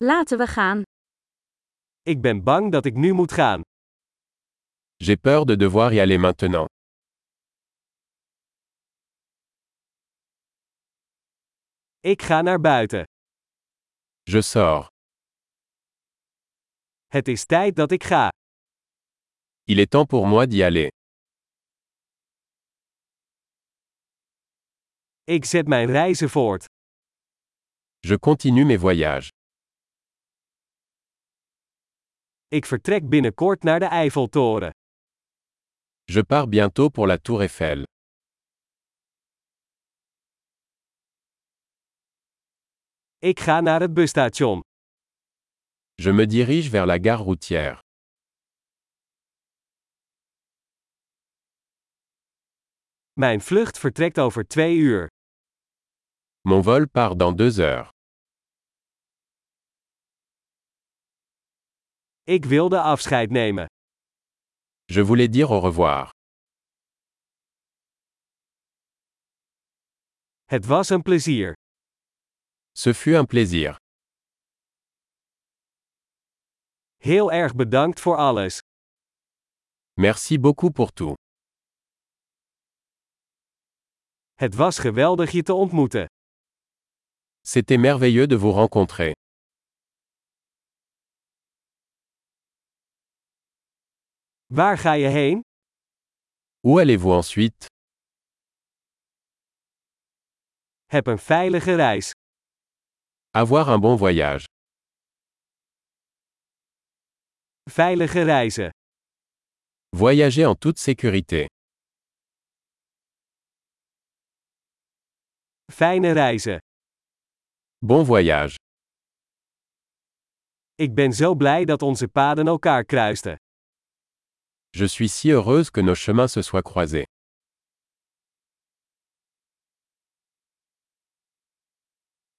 Laten we gaan. Ik ben bang dat ik nu moet gaan. J'ai peur de devoir y aller maintenant. Ik ga naar buiten. Je sors. Het is tijd dat ik ga. Il est temps pour moi d'y aller. Ik zet mijn reizen voort. Je continue mes voyages. Ik vertrek binnenkort naar de Eiffeltoren. Je pars bientôt pour la Tour Eiffel. Ik ga naar het busstation. Je me dirige vers la gare routière. Mijn vlucht vertrekt over 2 uur. Mon vol part dans 2 heures. Ik wilde afscheid nemen. Je voulais dire au revoir. Het was een plezier. Ce fut un plaisir. Heel erg bedankt voor alles. Merci beaucoup pour tout. Het was geweldig je te ontmoeten. C'était merveilleux de vous rencontrer. Waar ga je heen? Où allez-vous ensuite? Heb een veilige reis. Avoir un bon voyage. Veilige reizen. Voyager en toute sécurité. Fijne reizen. Bon voyage. Ik ben zo blij dat onze paden elkaar kruisten. Je suis si heureuse que nos chemins se soient croisés.